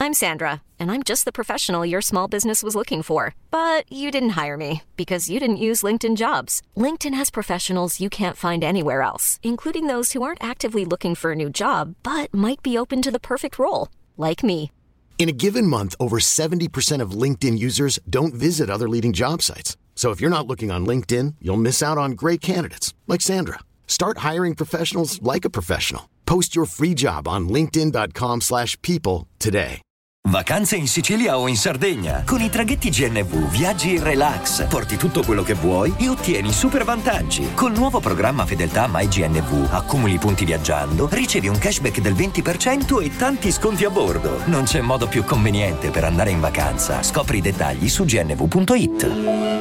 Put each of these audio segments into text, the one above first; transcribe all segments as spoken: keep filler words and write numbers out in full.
I'm Sandra, and I'm just the professional your small business was looking for. But you didn't hire me because you didn't use LinkedIn Jobs. LinkedIn has professionals you can't find anywhere else, including those who aren't actively looking for a new job, but might be open to the perfect role, like me. In a given month, over seventy percent of LinkedIn users don't visit other leading job sites. So if you're not looking on LinkedIn, you'll miss out on great candidates like Sandra. Start hiring professionals like a professional. Post your free job on linkedin.com slash people today. Vacanze in Sicilia o in Sardegna. Con i traghetti G N V viaggi in relax, porti tutto quello che vuoi e ottieni super vantaggi. Col nuovo programma Fedeltà MyGNV accumuli punti viaggiando, ricevi un cashback del venti per cento e tanti sconti a bordo. Non c'è modo più conveniente per andare in vacanza. Scopri i dettagli su g n v punto i t.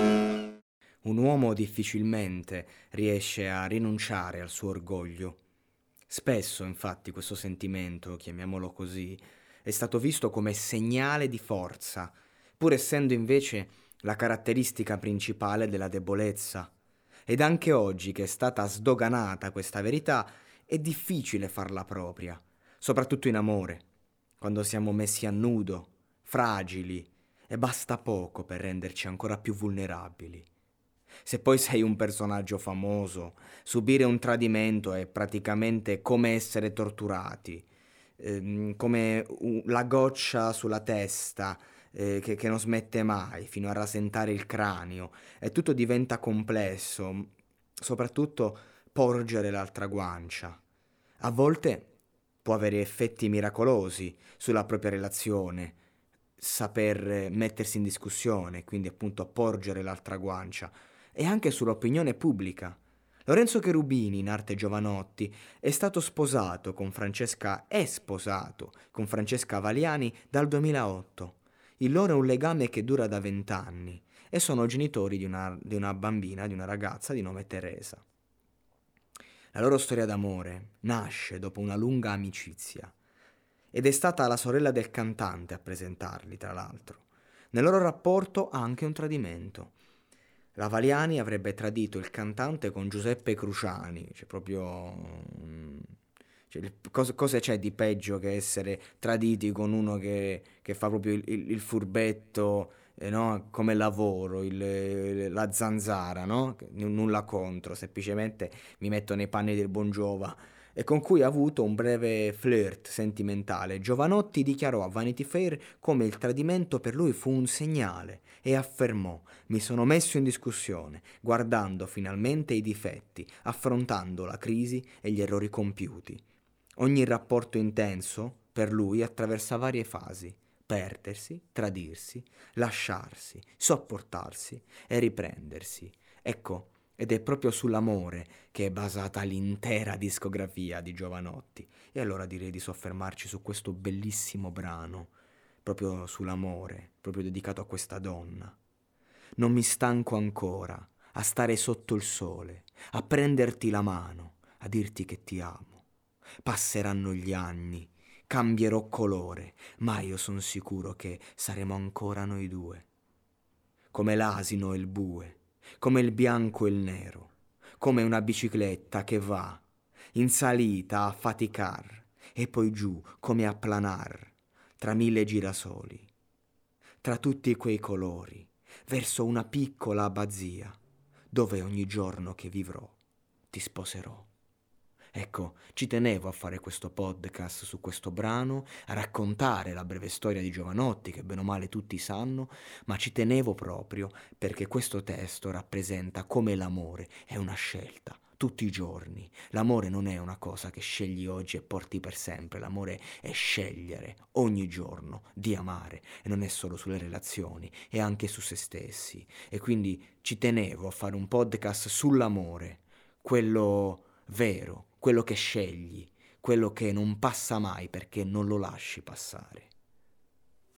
Un uomo difficilmente riesce a rinunciare al suo orgoglio. Spesso, infatti, questo sentimento, chiamiamolo così, è stato visto come segnale di forza, pur essendo invece la caratteristica principale della debolezza. Ed anche oggi, che è stata sdoganata questa verità, è difficile farla propria, soprattutto in amore, quando siamo messi a nudo, fragili, e basta poco per renderci ancora più vulnerabili. Se poi sei un personaggio famoso, subire un tradimento è praticamente come essere torturati, ehm, come un, la goccia sulla testa eh, che, che non smette mai, fino a rasentare il cranio, e tutto diventa complesso, soprattutto porgere l'altra guancia. A volte può avere effetti miracolosi sulla propria relazione, saper mettersi in discussione, quindi appunto porgere l'altra guancia, e anche sull'opinione pubblica. Lorenzo Cherubini, in arte Jovanotti, è stato sposato con Francesca, è sposato con Francesca Valiani dal duemilaotto. Il loro è un legame che dura da vent'anni e sono genitori di una, di una bambina, di una ragazza di nome Teresa. La loro storia d'amore nasce dopo una lunga amicizia ed è stata la sorella del cantante a presentarli, tra l'altro. Nel loro rapporto anche un tradimento. La Valiani avrebbe tradito il cantante con Giuseppe Cruciani, cioè proprio... Cioè, cosa, cosa c'è di peggio che essere traditi con uno che, che fa proprio il, il, il furbetto, eh, no? Come lavoro, il, la zanzara, no? Nulla contro, semplicemente mi metto nei panni del Bongiova, e con cui ha avuto un breve flirt sentimentale. Jovanotti dichiarò a Vanity Fair come il tradimento per lui fu un segnale e affermò: mi sono messo in discussione, guardando finalmente i difetti, affrontando la crisi e gli errori compiuti. Ogni rapporto intenso per lui attraversa varie fasi: perdersi, tradirsi, lasciarsi, sopportarsi e riprendersi. Ecco, ed è proprio sull'amore che è basata l'intera discografia di Jovanotti. E allora direi di soffermarci su questo bellissimo brano, proprio sull'amore, proprio dedicato a questa donna. Non mi stanco ancora a stare sotto il sole, a prenderti la mano, a dirti che ti amo. Passeranno gli anni, cambierò colore, ma io son sicuro che saremo ancora noi due. Come l'asino e il bue, come il bianco e il nero, come una bicicletta che va in salita a faticar e poi giù come a planar tra mille girasoli, tra tutti quei colori, verso una piccola abbazia dove ogni giorno che vivrò ti sposerò. Ecco, ci tenevo a fare questo podcast su questo brano, a raccontare la breve storia di Jovanotti, che bene o male tutti sanno, ma ci tenevo proprio perché questo testo rappresenta come l'amore è una scelta, tutti i giorni. L'amore non è una cosa che scegli oggi e porti per sempre, l'amore è scegliere ogni giorno di amare, e non è solo sulle relazioni, è anche su se stessi. E quindi ci tenevo a fare un podcast sull'amore, quello vero, quello che scegli, quello che non passa mai perché non lo lasci passare.